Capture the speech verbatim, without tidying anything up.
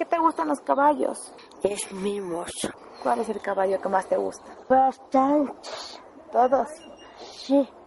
qué te gustan los caballos? Es mimoso. ¿Cuál es el caballo que más te gusta? Bastantes. ¿Todos? Sí.